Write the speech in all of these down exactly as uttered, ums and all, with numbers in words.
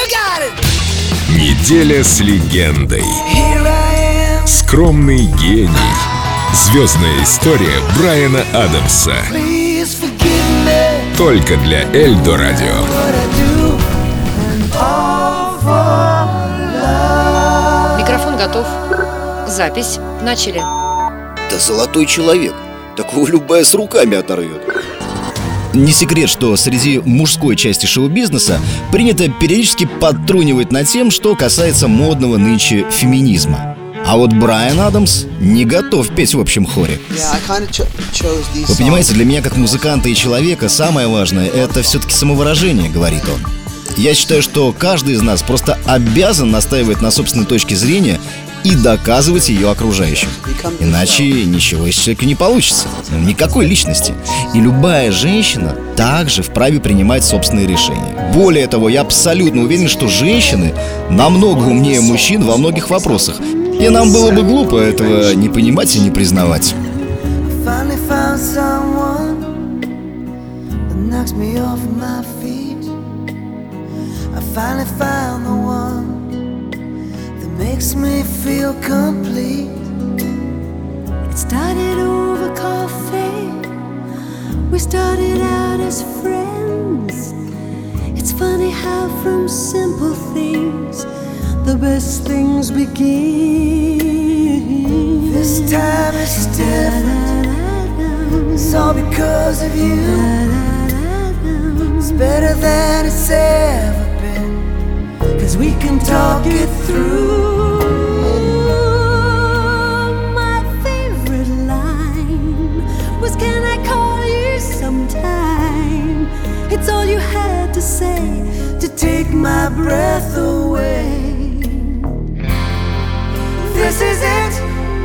Неделя с легендой. Скромный гений. Звездная история Брайана Адамса. Только для Эльдо Радио. Микрофон готов. Запись. Начали. Да золотой человек. Такого любая с руками оторвет. Не секрет, что среди мужской части шоу-бизнеса принято периодически подтрунивать над тем, что касается модного нынче феминизма. А вот Брайан Адамс не готов петь в общем хоре. Вы понимаете, для меня как музыканта и человека самое важное — это все-таки самовыражение, говорит он. Я считаю, что каждый из нас просто обязан настаивать на собственной точке зрения и доказывать ее окружающим. Иначе ничего из человека не получится. Никакой личности. И любая женщина также вправе принимать собственные решения. Более того, я абсолютно уверен, что женщины намного умнее мужчин во многих вопросах. И нам было бы глупо этого не понимать и не признавать. Makes me feel complete. It started over coffee. We started out as friends. It's funny how from simple things the best things begin. This time is different. It's all because of you. It's better than it's ever been, 'cause we can talk it through. Can I call you sometime? It's all you had to say to take my breath away. This is it.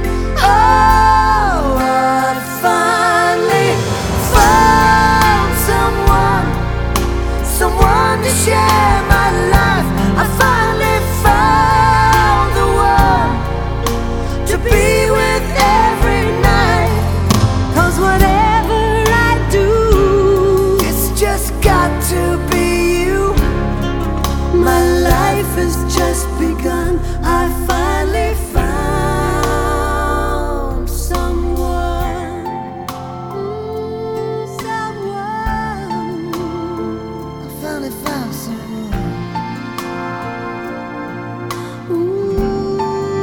Oh, I finally found someone, someone to share my life. I finally found the one to be with every night. 'Cause whatever I do, it's just got to be you. My life has just begun. I finally found someone, someone. I finally found someone. Ooh.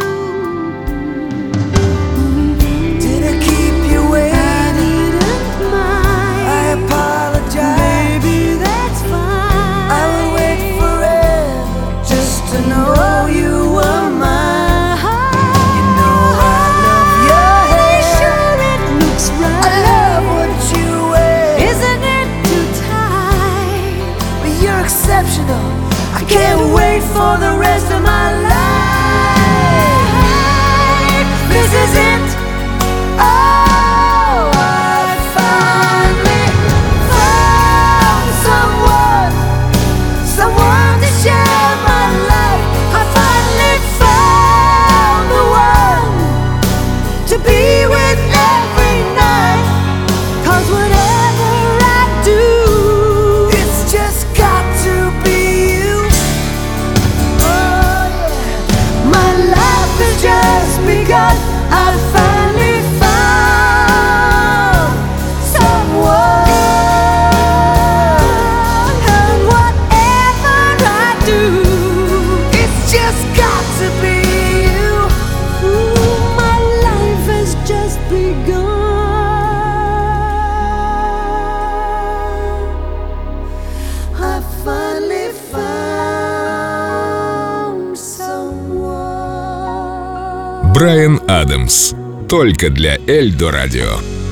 Did I keep you waiting? I apologize. Maybe that's fine. I will wait forever just to know you were mine. You know I love your hair. Sure it looks right. I love what you wear. Isn't it too tight? But you're exceptional. I can't wait for the rest of my life. This is it. Oh, I finally found someone, someone to share my life. I finally found the one to be with every night. 'Cause whatever I do, it's just got to be you. Oh yeah, my life has just begun. I finally found someone, and whatever I do, it's just got to be you. Ooh, my life has just begun. I finally found someone. Брайан Адамс. Только для Эльдо Радио.